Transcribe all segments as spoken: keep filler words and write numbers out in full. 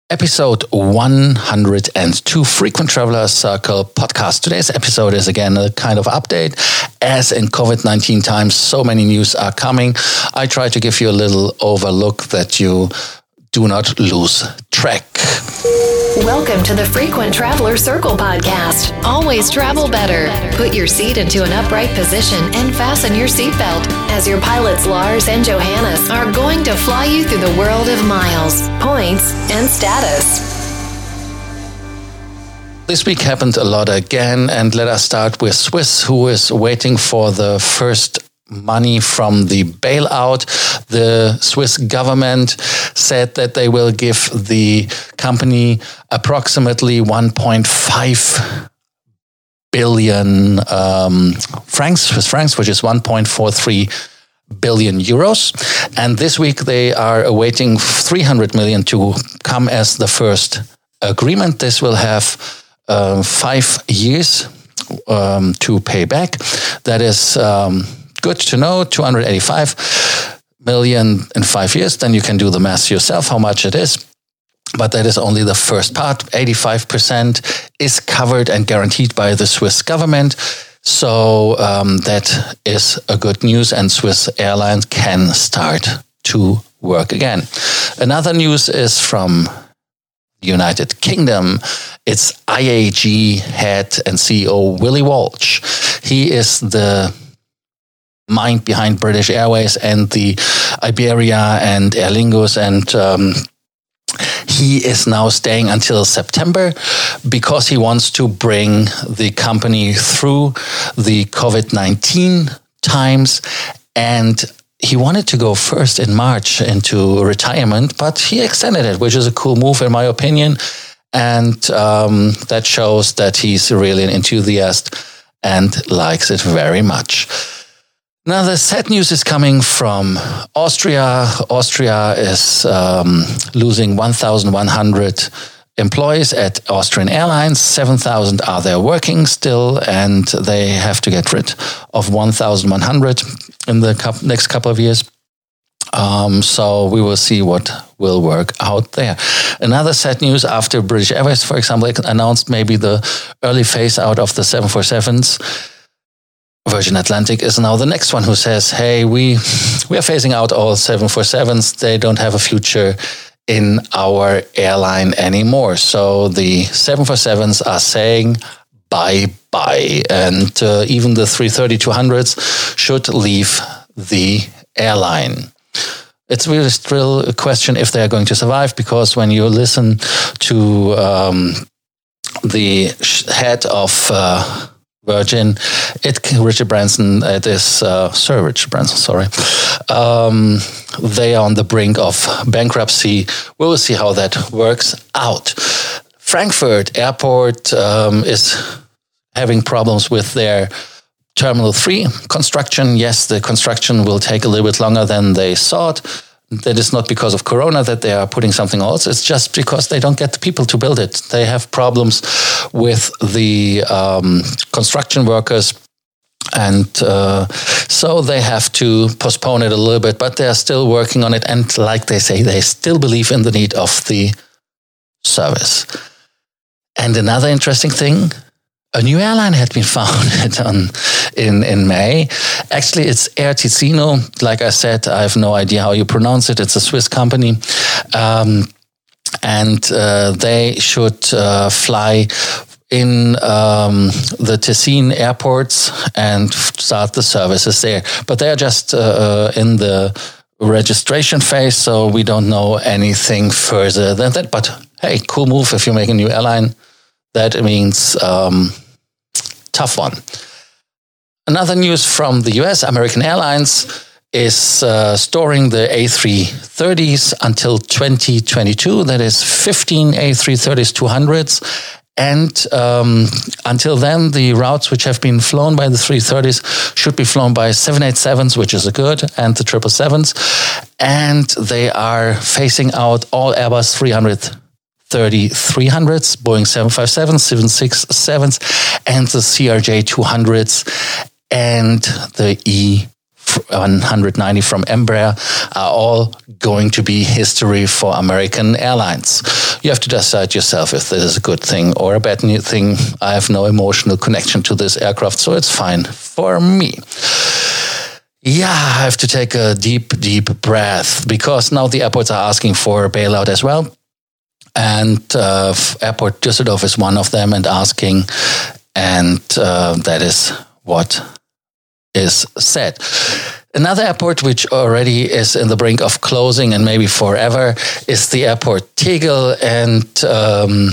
Episode one hundred two Frequent Traveler Circle podcast. Today's episode is again a kind of update. As in COVID nineteen times, so many news are coming. I try to give you a little overlook that you do not lose track. Welcome to the Frequent Traveler Circle podcast. Always travel better. Put your seat into an upright position and fasten your seatbelt as your pilots Lars and Johannes are going to fly you through the world of miles, points, and status. This week happened a lot again, and let us start with Swiss, who is waiting for the first money from the bailout. The Swiss government said that they will give the company approximately one point five billion um, francs, Swiss francs, which is one point four three billion euros. And this week they are awaiting three hundred million to come as the first agreement. This will have uh, five years um, to pay back. That is Um, good to know, two hundred eighty-five million in five years. Then you can do the math yourself, how much it is. But that is only the first part. eighty-five percent is covered and guaranteed by the Swiss government. So um, that is a good news, and Swiss Airlines can start to work again. Another news is from the United Kingdom. It's I A G head and C E O Willie Walsh. He is the mind behind British Airways and the Iberia and Aer Lingus, and um, he is now staying until September because he wants to bring the company through the COVID nineteen times, and he wanted to go first in March into retirement, but he extended it, which is a cool move in my opinion, and um, that shows that he's really an enthusiast and likes it very much. Now, the sad news is coming from Austria. Austria is um, losing one thousand one hundred employees at Austrian Airlines. seven thousand are there working still, and they have to get rid of one thousand one hundred in the co- next couple of years. Um, so we will see what will work out there. Another sad news after British Airways, for example, announced maybe the early phase out of the seven forty-sevens. Virgin Atlantic is now the next one who says, hey, we we are phasing out all seven forty-sevens. They don't have a future in our airline anymore. So the seven forty-sevens are saying bye-bye. And uh, even the three thirty two hundreds should leave the airline. It's really still a question if they're going to survive, because when you listen to um, the head of Uh, Virgin, it Richard Branson, it is uh, Sir Richard Branson, sorry. Um, they are on the brink of bankruptcy. We will see how that works out. Frankfurt Airport um, is having problems with their Terminal three construction. Yes, the construction will take a little bit longer than they thought. That is not because of Corona that they are putting something else. It's just because they don't get the people to build it. They have problems with the um, construction workers. And uh, so they have to postpone it a little bit, but they are still working on it. And like they say, they still believe in the need of the service. And another interesting thing, a new airline had been founded on, in, in May. Actually, it's Air Ticino. Like I said, I have no idea how you pronounce it. It's a Swiss company. Um, and uh, they should uh, fly in um, the Ticino airports and start the services there. But they are just uh, in the registration phase, so we don't know anything further than that. But hey, cool move if you make a new airline. That means Um, tough one. Another news from the U S, American Airlines is uh, storing the A three thirties until twenty twenty-two. That is fifteen A three thirties two hundreds. And um, until then, the routes which have been flown by the three thirties should be flown by seven eighty-sevens, which is a good, and the triple sevens. And they are phasing out all Airbus three thirty three hundreds, Boeing seven fifty-sevens, seven sixty-sevens, and the C R J two hundreds and the E one hundred ninety from Embraer are all going to be history for American Airlines. You have to decide yourself if this is a good thing or a bad thing. I have no emotional connection to this aircraft, so it's fine for me. Yeah, I have to take a deep, deep breath because now the airports are asking for a bailout as well. And uh, Airport Düsseldorf is one of them and asking, and uh, that is what is said. Another airport which already is in the brink of closing and maybe forever is the airport Tegel, and um,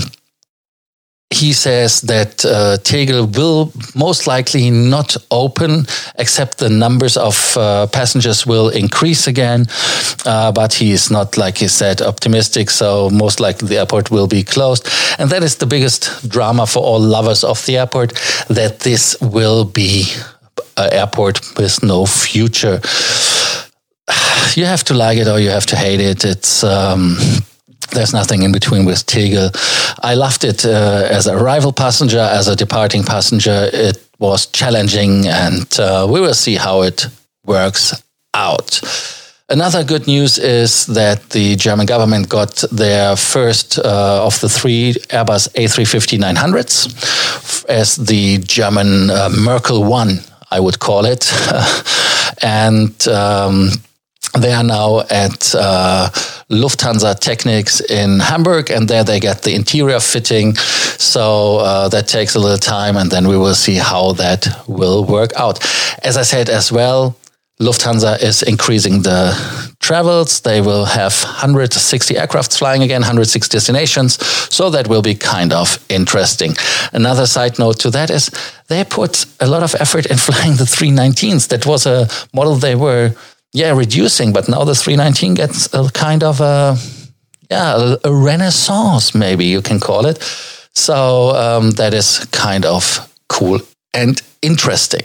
he says that uh, Tegel will most likely not open, except the numbers of uh, passengers will increase again. Uh, but he is not, like he said, optimistic. So most likely the airport will be closed. And that is the biggest drama for all lovers of the airport, that this will be an airport with no future. You have to like it or you have to hate it. It's... Um, There's nothing in between with Tegel. I loved it uh, as a arrival passenger, as a departing passenger. It was challenging, and uh, we will see how it works out. Another good news is that the German government got their first uh, of the three Airbus A three fifty nine hundreds as the German uh, Merkel One, I would call it. and... Um, They are now at uh, Lufthansa Technics in Hamburg, and there they get the interior fitting. So uh, that takes a little time, and then we will see how that will work out. As I said as well, Lufthansa is increasing the travels. They will have one hundred sixty aircraft flying again, one hundred six destinations. So that will be kind of interesting. Another side note to that is they put a lot of effort in flying the three nineteens. That was a model they were... Yeah, reducing, but now the three nineteen gets a kind of a, yeah, a, a renaissance, maybe you can call it. So um, that is kind of cool and interesting.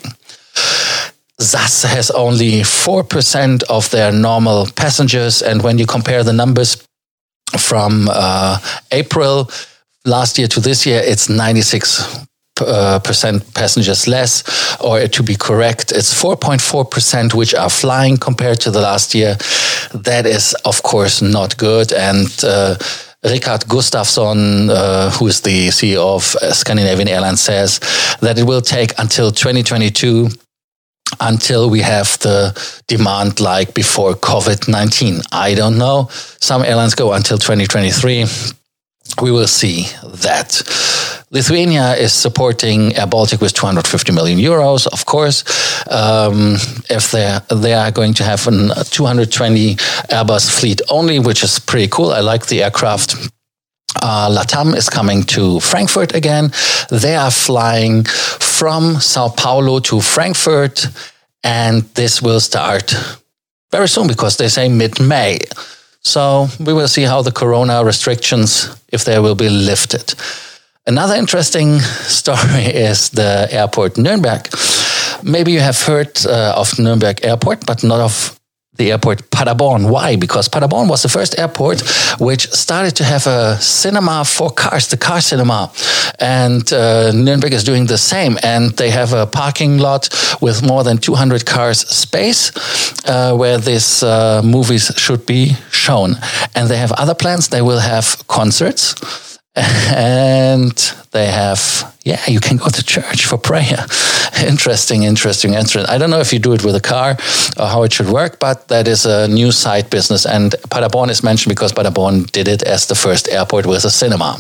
S A S has only four percent of their normal passengers, and when you compare the numbers from uh, April last year to this year, it's ninety-six Uh, percent passengers less, or to be correct, it's four point four percent which are flying compared to the last year. That is, of course, not good. And uh, Richard Gustafsson, uh, who is the C E O of Scandinavian Airlines, says that it will take until twenty twenty-two until we have the demand like before COVID nineteen. I don't know. Some airlines go until twenty twenty-three. We will see that. Lithuania is supporting Air Baltic with two hundred fifty million euros, of course. Um, if they they are going to have a two hundred twenty Airbus fleet only, which is pretty cool. I like the aircraft. Uh, LATAM is coming to Frankfurt again. They are flying from Sao Paulo to Frankfurt, and this will start very soon because they say mid-May. So we will see how the corona restrictions, if they will be lifted. Another interesting story is the airport Nuremberg. Maybe you have heard uh, of Nuremberg Airport, but not of the airport Paderborn. Why? Because Paderborn was the first airport which started to have a cinema for cars, the car cinema. And uh, Nuremberg is doing the same. And they have a parking lot with more than two hundred cars space uh, where these uh, movies should be shown. And they have other plans. They will have concerts. And they have, yeah, you can go to church for prayer. Interesting, interesting, interesting. I don't know if you do it with a car or how it should work, but that is a new side business. And Paderborn is mentioned because Paderborn did it as the first airport with a cinema.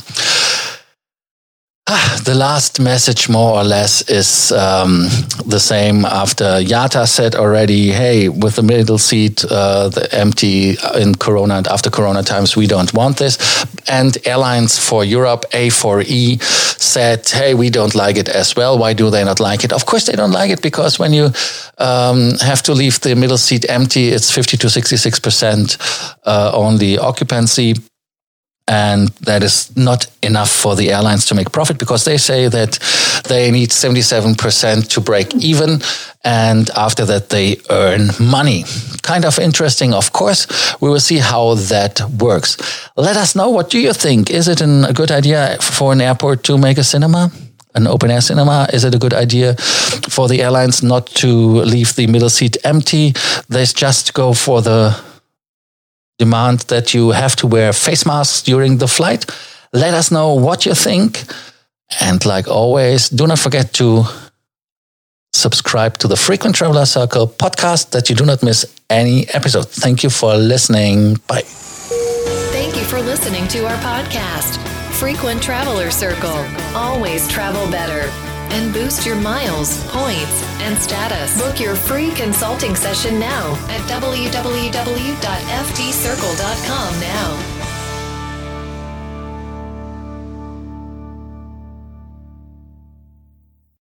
The last message, more or less, is um, the same after IATA said already, hey, with the middle seat, uh, the empty in Corona and after Corona times, we don't want this. And Airlines for Europe, A four E, said, hey, we don't like it as well. Why do they not like it? Of course, they don't like it because when you um, have to leave the middle seat empty, it's fifty to sixty-six percent uh, only occupancy. And that is not enough for the airlines to make profit because they say that they need seventy-seven percent to break even. And after that, they earn money. Kind of interesting, of course. We will see how that works. Let us know, what do you think? Is it an, a good idea for an airport to make a cinema? an open-air cinema? Is it a good idea for the airlines not to leave the middle seat empty? They just go for the demand that you have to wear face masks during the flight. Let us know what you think. And like always, do not forget to subscribe to the Frequent Traveler Circle podcast that you do not miss any episode. Thank you for listening. Bye. Thank you for listening to our podcast, Frequent Traveler Circle. Always travel better and boost your miles, points, and status. Book your free consulting session now at w w w dot f t circle dot com now.